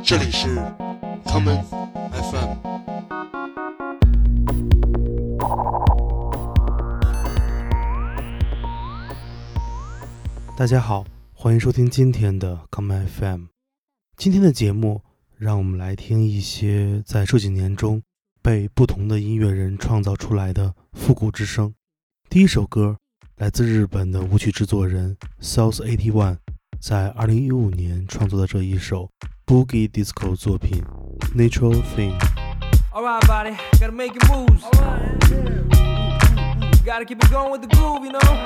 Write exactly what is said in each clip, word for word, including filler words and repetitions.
这里是 Common F M。 大家好，欢迎收听今天的 Common F M。 今天的节目让我们来听一些在这几年中被不同的音乐人创造出来的复古之声。第一首歌来自日本的舞曲制作人 South 八十一，在二零一五年创作的这一首 Boogie Disco 作品 Natural Thing。 Alright, buddy, gotta make your moves. Gotta keep it going with the groove, you know.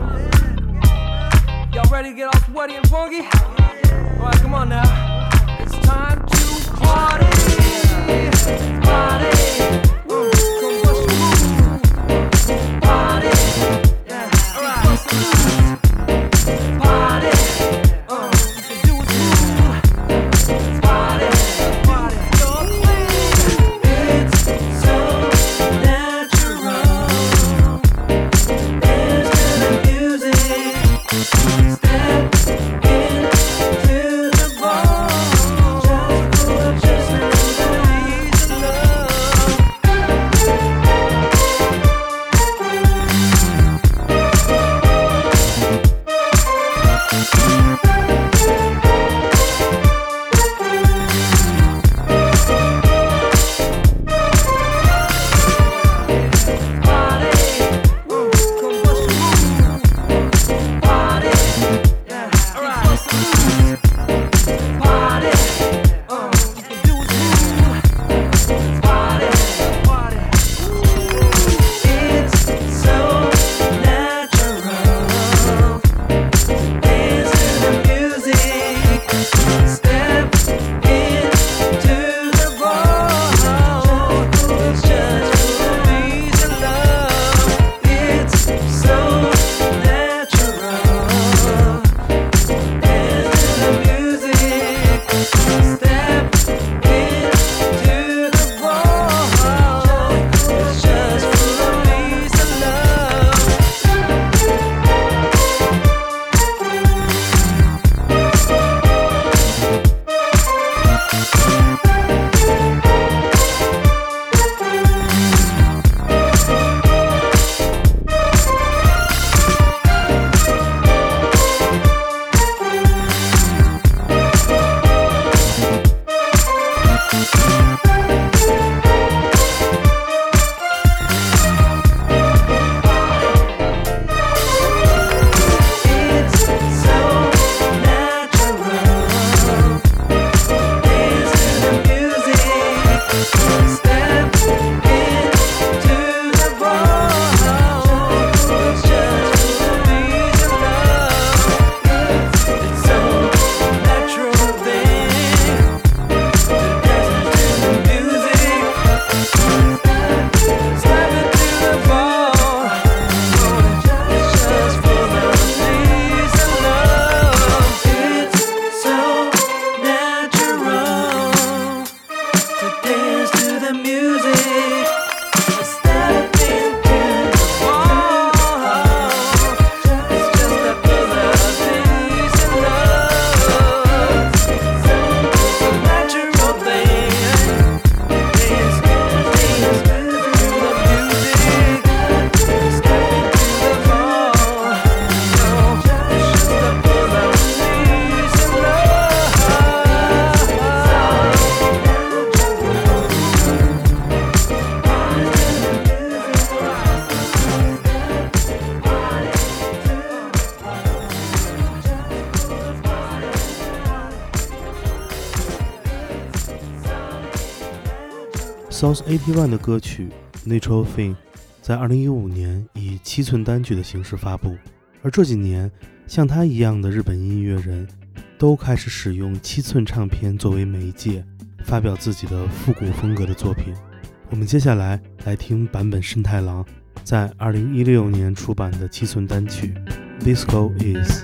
Y'all ready to get all sweaty and funky? Alright, come on now. It's time to party. Party. Woo, come bust your move. Party. Yeah, alright. Party. Uh, you can do it smooth. Party. Party. It's so natural. Dance to the music. Step into the ball. Just, just release the South 八十一的歌曲 Natural Thing 在二零一五年以七寸单曲的形式发布，而这几年像他一样的日本音乐人都开始使用七寸唱片作为媒介，发表自己的复古风格的作品。我们接下来来听坂本慎太郎在二零一六年出版的七寸单曲 Disco Is。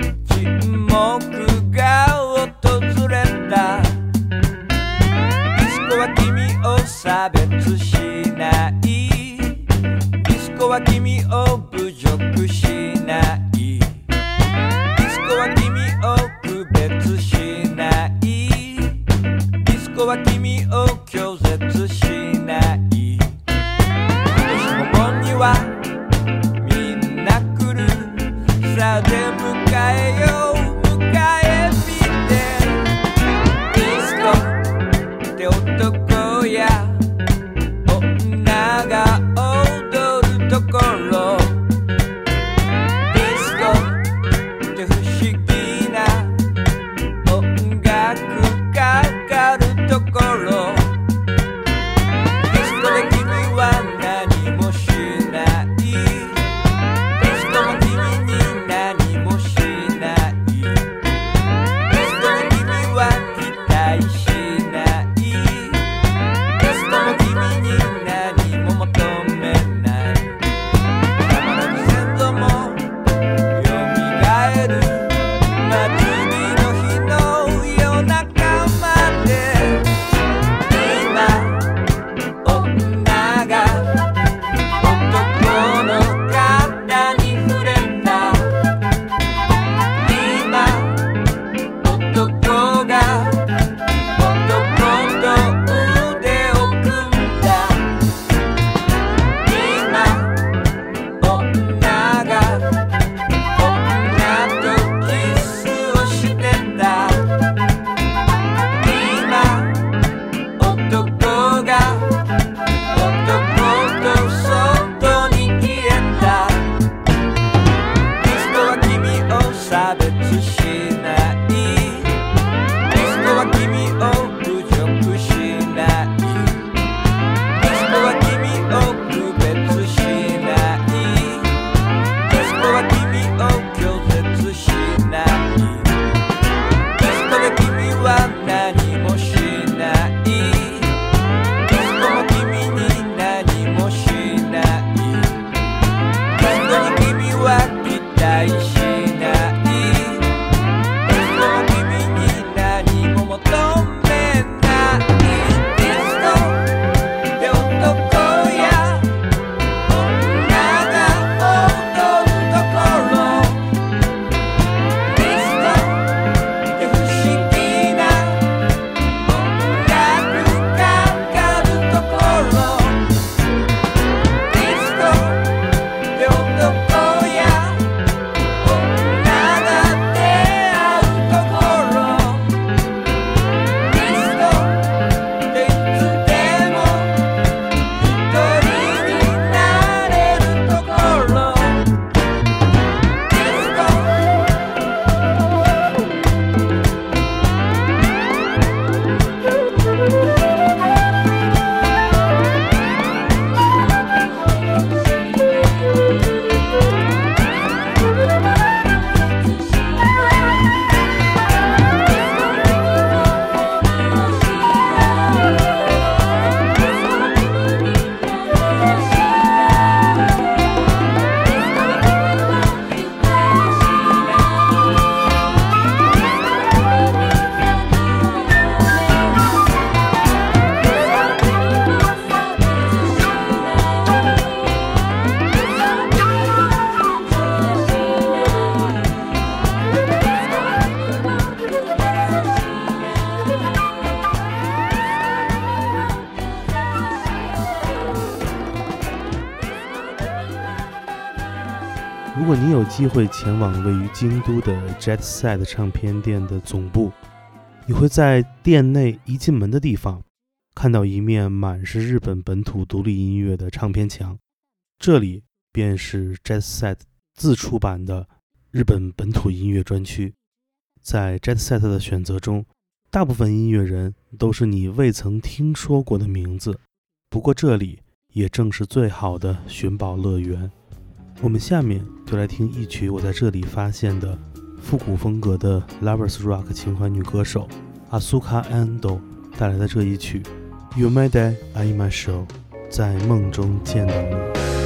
沈黙が訪れた。 果你有机会前往位于京都的 Jet Set 唱片店的总部，你会在店内一进门的地方看到一面满是日本本土独立音乐的唱片墙，这里便是 Jet Set 自出版的日本本土音乐专区。在 Jet Set 的选择中，大部分音乐人都是你未曾听说过的名字，不过这里也正是最好的寻宝乐园。我们下面就来听一曲我在这里发现的复古风格的 Lovers Rock 情怀女歌手 Asuka Ando 带来的这一曲 Yumede Aimasho 在梦中见到你。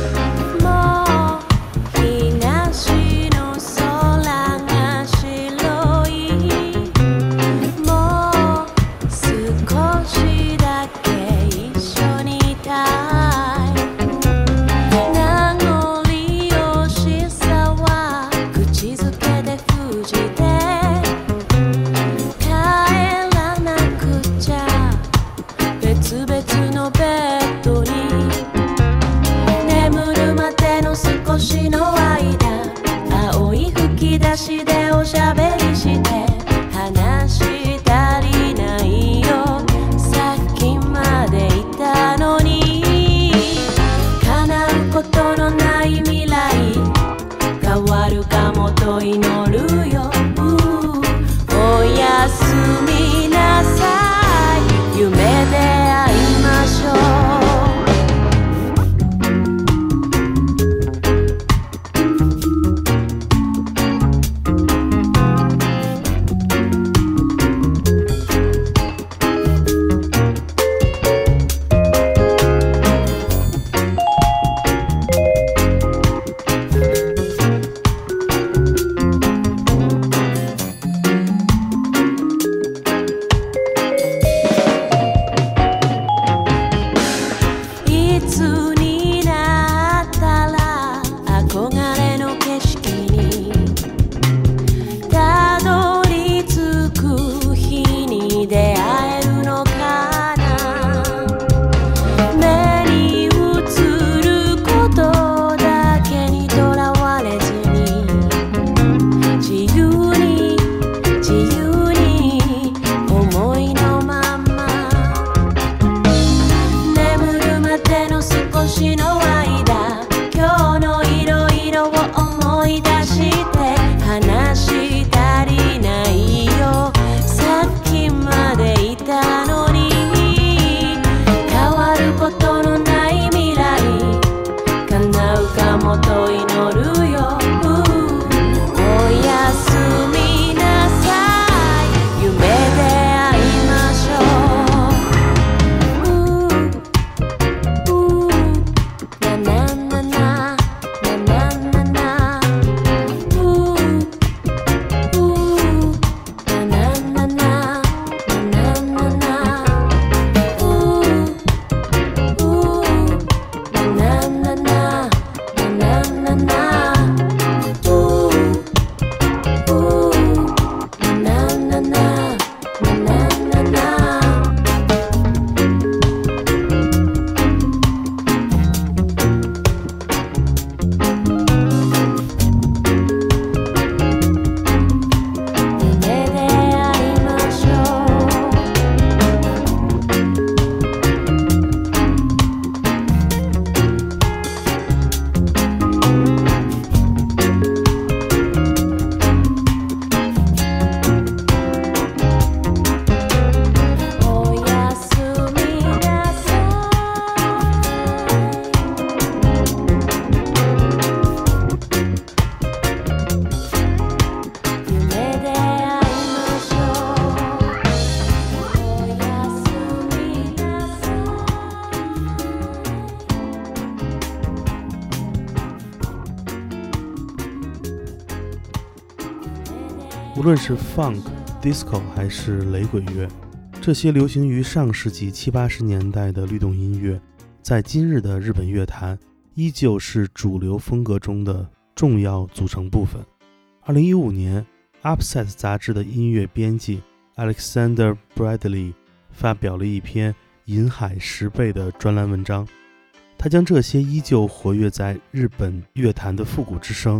无论是 Funk、Disco 还是雷鬼乐，这些流行于上世纪七八十年代的律动音乐，在今日的日本乐坛依旧是主流风格中的重要组成部分。二零一五年 Upset 杂志的音乐编辑 Alexander Bradley 发表了一篇银海十倍的专栏文章，他将这些依旧活跃在日本乐坛的复古之声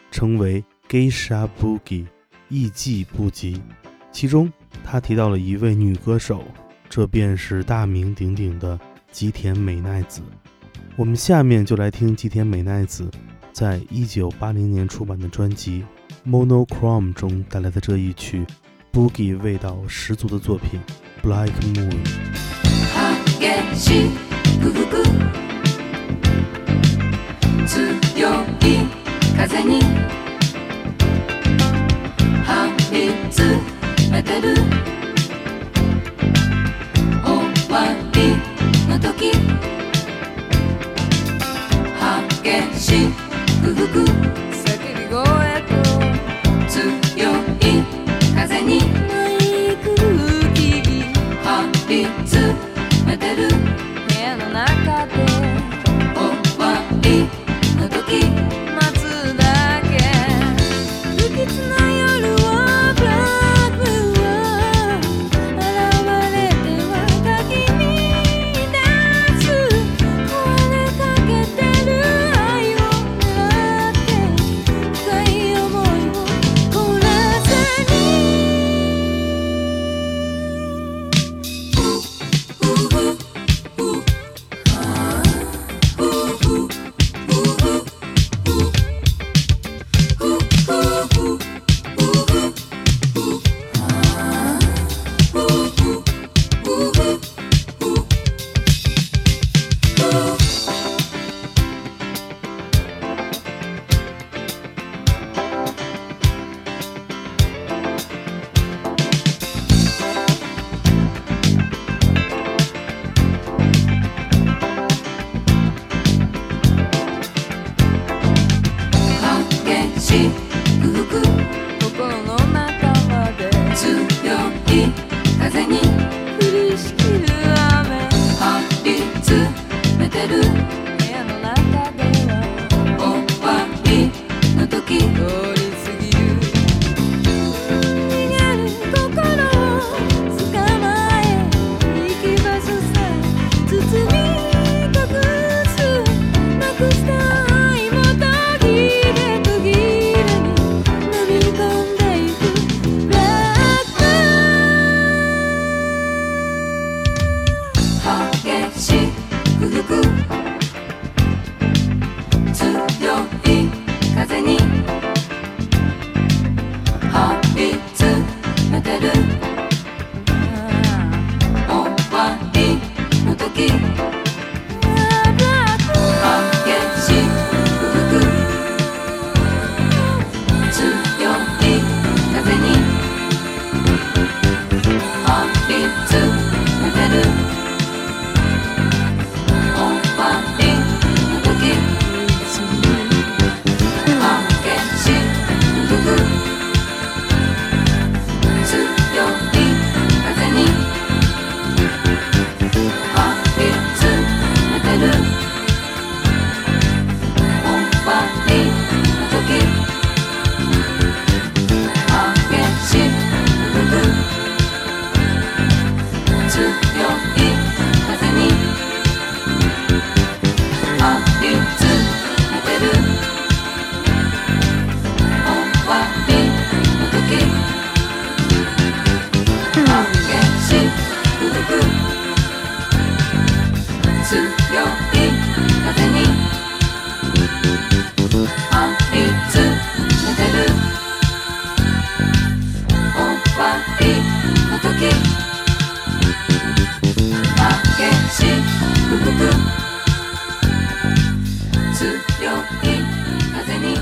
称为 Geisha Boogie 艺伎布吉，其中他提到了一位女歌手，这便是大名鼎鼎的吉田美奈子。我们下面就来听吉田美奈子在一九八零年出版的专辑 Monochrome 中带来的这一曲 Boogie 味道十足的作品 Black Moon。 激しく吹く強い風に張り詰めてる終わりの時激しく吹く叫び声と強い風にない空気張り詰めてる部屋の中で終わりの時待つだけ不吉な夜はブラックは現れては鍵に立つ壊れかけてる愛を狙って深い想いを凍らせに心の中まで強い風に降りしきる雨張り詰めてる部屋の中では終わりの時通り過ぎる逃げる心を捕まえ行き場所さ包み隠すなくした愛も途切れ途切れに飲み込んでいくブラック激しく吹く強い風に張り詰めてる終わりの時激しく吹く強い風に張り詰めてる終わりの時激しく吹く強い風に張り詰めてる終わりの時激しく吹く強い風に張り詰めてる終わりの時激しく吹く強い風に張り詰めてる終わりの時激しく吹く強い風に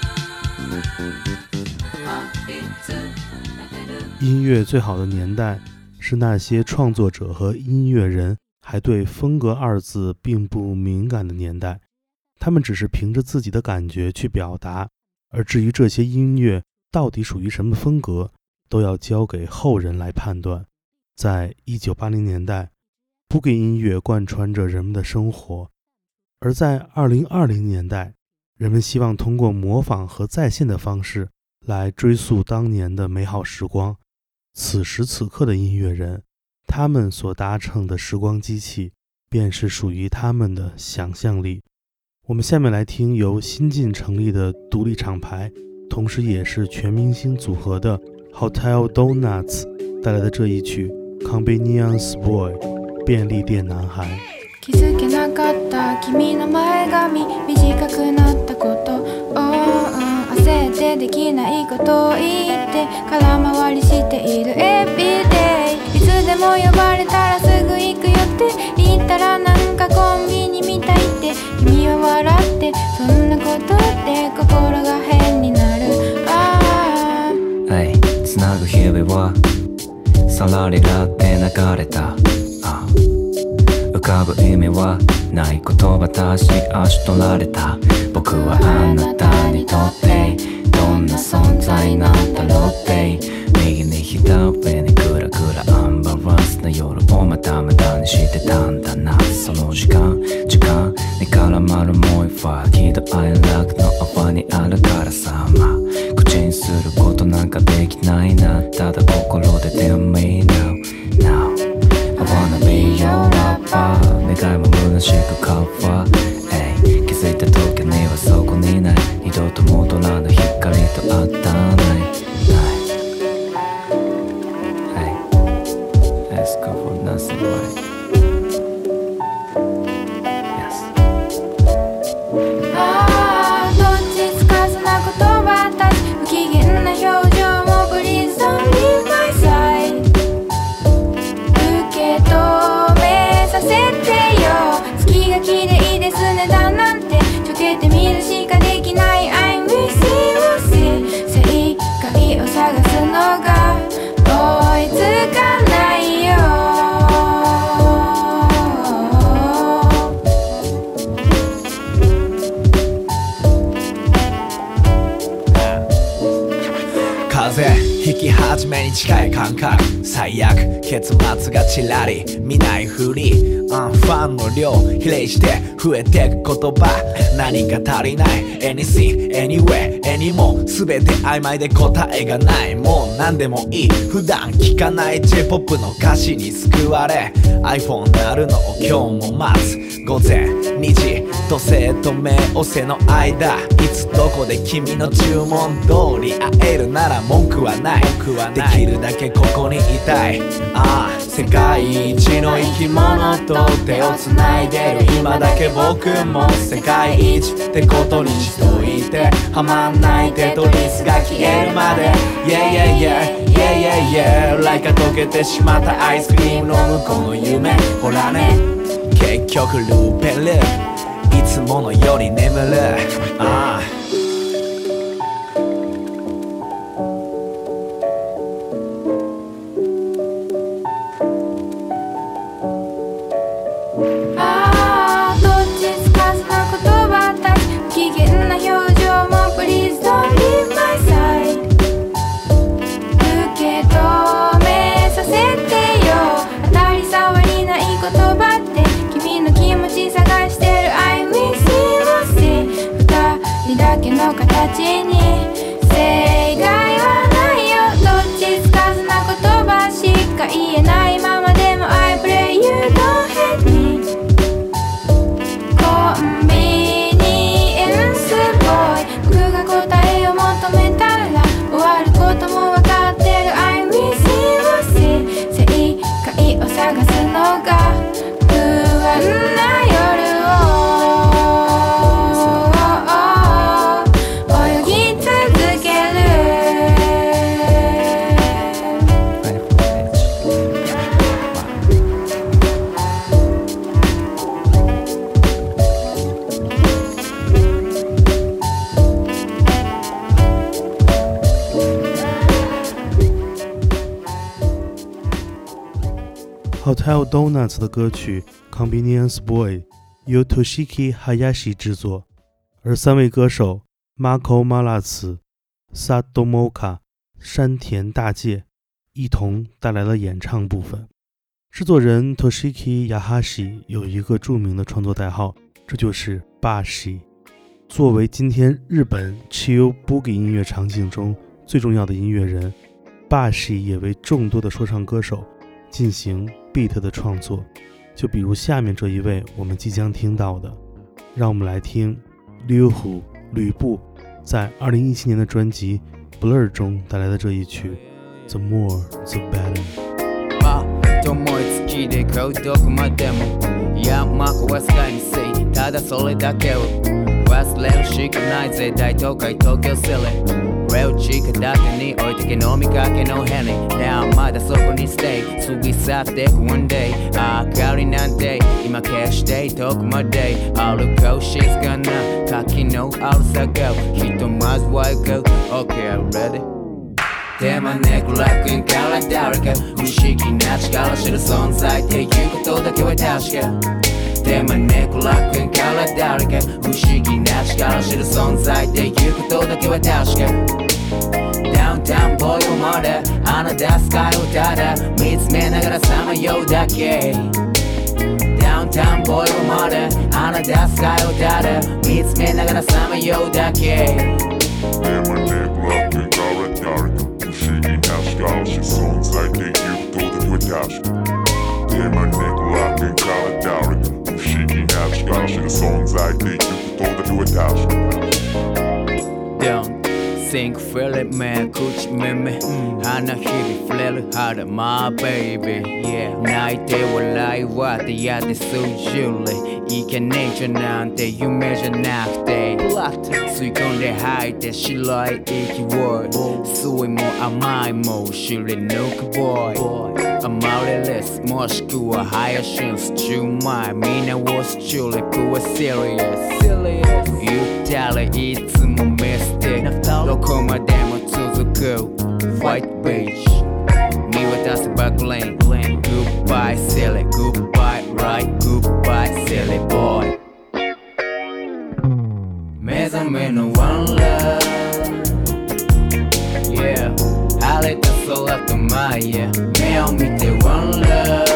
張り詰めてる音乐最好的年代是那些创作者和音乐人还对风格二字并不敏感的年代，他们只是凭着自己的感觉去表达，而至于这些音乐到底属于什么风格，都要交给后人来判断。在一九八零年代，Boogie音乐贯穿着人们的生活，而在二零二零年代，人们希望通过模仿和再现的方式来追溯当年的美好时光。此时此刻的音乐人，他们所搭乘的时光机器便是属于他们的想象力。我们下面来听由新晋成立的独立厂牌同时也是全明星组合的 Hotel Donuts 带来的这一曲 Convenience Boy 便利店男孩。 気づけなかった君の前髪短くなったこと、oh, uh, 焦ってできないことを言って空回りしている Everyday いつでも呼ばれたらすぐ行くよって言ったらなんかコンビニみたいって君は笑ってそんなことって心が変になる、ああhey, つなぐ日々はさらりらって流れた、あ浮かぶ意味はない言葉たち足取られた僕はあなたにとってどんな存在なんだろうって右に左にグラグラアンバランスな夜をまだまだにしてたんだなその時間時間に絡まるもう一は喜怒哀楽の泡にあるからさまあ口にすることなんかできないなただ心で Tell me now now I wanna be your lover 願いも虚しく変わる、hey, 気づいた時にはそこにない二度と戻らぬ光と当たらない、hey, Ask for nothing right Yes あどっちつかずな言葉たち不機嫌な表情も Please don't leave my side 受け止めさせてよ月が綺麗ですねだなんてちょけてみるしかできない I'm with you 正解を探すのが追いつかないよ風引き始めに近い感覚最悪結末がちらり見ないふり、うん、ファンの量比例して増えてく言葉何か足りない Anything, anywhere, anymore 全て曖昧で答えがないもう何でもいい普段聞かない J-ポップ の歌詞に救われ iPhone 鳴るのを今日も待つ午前にじ土星と冥王星の間いつどこで君の注文通り会えるなら文句はないできるだけここにいたいああ世界一の生き物と手をつないでる今だけ僕も世界一ってことにしといてはまんないテトリスが消えるまで Yeah yeah yeah yeah yeah yeah Like 溶けてしまったアイスクリームの向こうの夢ほらね結局ルーペルいつものより眠るああの形に正解はないよどっちつかずな言葉しか言えないままでも I pray you don't hate me コンビニエンスボーイ僕が答えを求めたら終わることも分かってる I'm with you 正解を探すのが不安な夜を Hotel Donuts 的歌曲 Convenience Boy 由 Toshiki Hayashi 制作，而三位歌手 Marco Malatsu、Satomoka、山田大介一同带来了演唱部分。制作人 Toshiki Hayashi 有一个著名的创作代号，这就是 Bashi。作为今天日本 Chill Boogie 音乐场景中最重要的音乐人， Bashi 也为众多的说唱歌手进行 beat 的创作，就比如下面这一位我们即将听到的，让我们来听 Liu Hu 吕布在二零一七年的专辑 Blur 中带来的这一曲 The More The Better。 あ、思いつきで買うどこまでも山はスカイにせいただそれだけを忘れるしかないぜ大都会東京シリレオチカだけに置いてけ飲みかけのヘリ Now まだそこにステイ過ぎ去ってく One day 明かりなんて今消して遠くまで歩こう静かな柿の青さがひとまずは行こう OK ready手招く楽園から誰か不思議な力知る存在っていうことだけは確か手招く楽園から誰か不思議な力知る存在っていうことだけは確かダウンタウンボーイまで穴出すスカイをただ見つめながらさまようだけダウンタウンボーイまで穴出すスカイをただ見つめながらさまようだけ手招く楽園から誰か不思議な力知る存在っていうことだけは確か手招く楽園から誰か不思議な力知る存在っていうことだけは確か Don't think feel it man 口耳花日々触れる肌 My baby Yeah 泣いて笑いは出会って数十里いけねえじゃなんて夢じゃなくて吸い込んで吐いて白い息を酸いも甘いも知り抜く boy アマリレスもしくはハヤシンス中前みんなをスチューリックは serious 言ったらいつもミスティックどこまでも続く White Beach 見渡せばグレン Goodbye silly Goodbye right Goodbye silly boy 目覚めの One love Yeah 晴れた空と前へ目を見て One love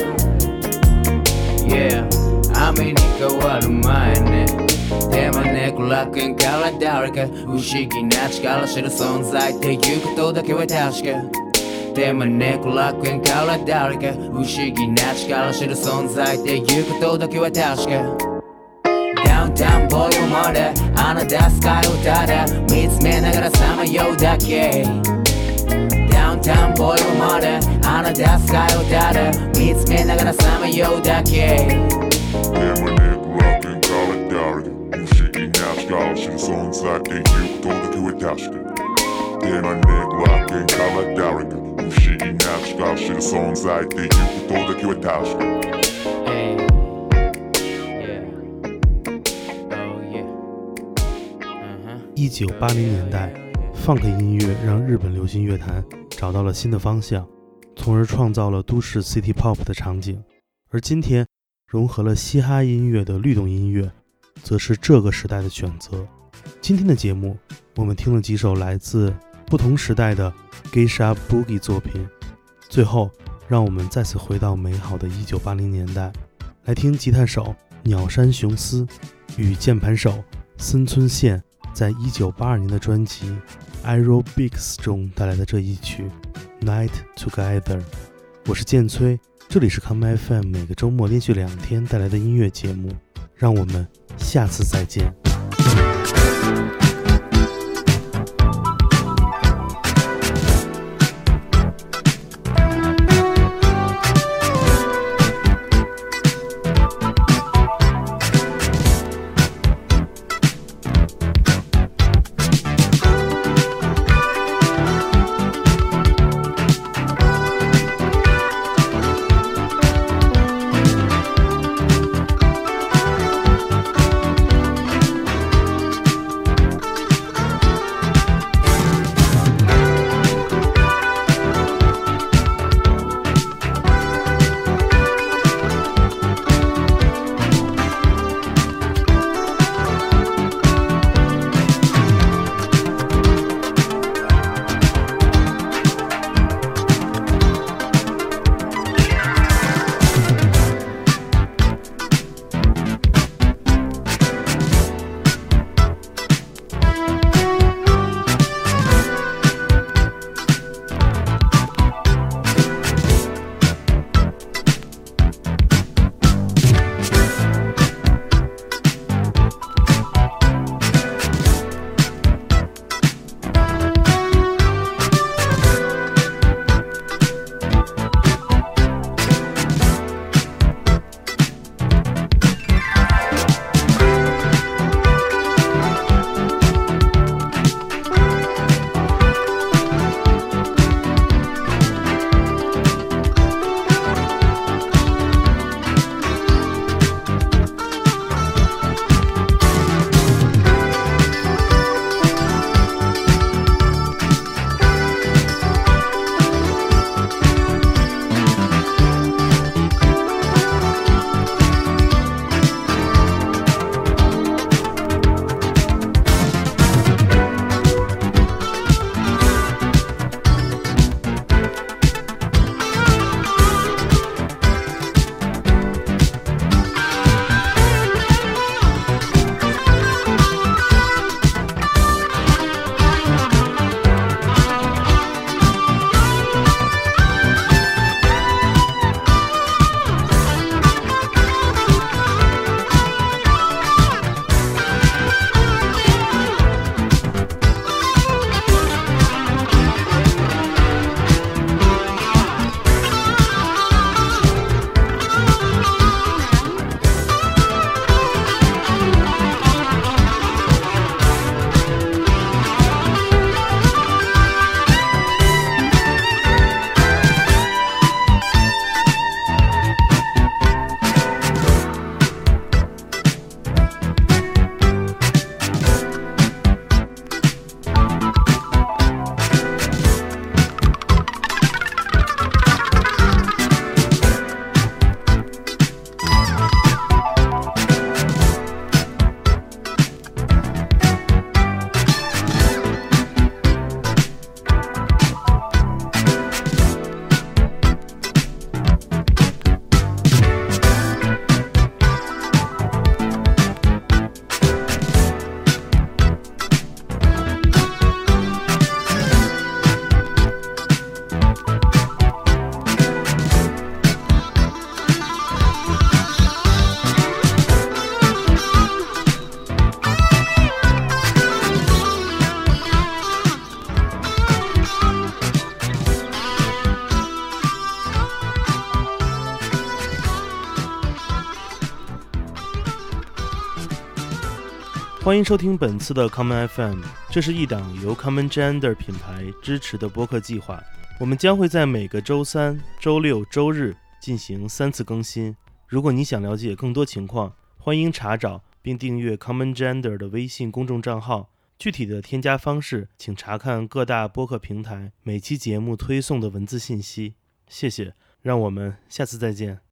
Yeah 雨に変わる前ね手招く楽園から誰か不思議な力知る存在っていうことだけは確か手招く楽園から誰か不思議な力知る存在っていうことだけは確かダウンタウンボーイまで穴出すスカイをただ見つめながらさまようだけダウンタウンボーイまで穴出すスカイをただ見つめながらさまようだけ手招く楽園から誰か不思議な力知る存在っていうことだけは確か手招く楽園から誰か不思議な力知る存在っていうことだけは確か Hey, yeah, oh yeah, uh-huh. 一九八零年代 Funk 音乐让日本流行乐坛找到了新的方向，从而创造了都市 City Pop 的场景。而今天融合了嘻哈音乐的律动音乐则是这个时代的选择。今天的节目我们听了几首来自不同时代的 Geisha Boogie 作品，最后让我们再次回到美好的一九八零年代，来听吉他手鸟山雄司与键盘手森村宪在一九八二年的专辑 Aerobics 中带来的这一曲 Night Together。 我是建崔，这里是 Come F M 每个周末连续两天带来的音乐节目，让我们下次再见。 欢迎收听本次的 Common F M， 这是一档由 Common Gender 品牌支持的播客计划。我们将会在每个周三、周六、周日进行三次更新。如果你想了解更多情况，欢迎查找并订阅 Common Gender 的微信公众账号。具体的添加方式，请查看各大播客平台每期节目推送的文字信息。谢谢，让我们下次再见。